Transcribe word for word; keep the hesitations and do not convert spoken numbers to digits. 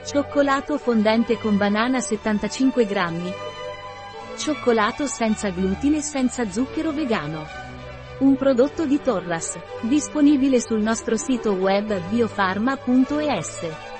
Cioccolato fondente con banana settantacinque grammi. Cioccolato senza glutine e senza zucchero vegano. Un prodotto di Torras, disponibile sul nostro sito web biofarma punto es.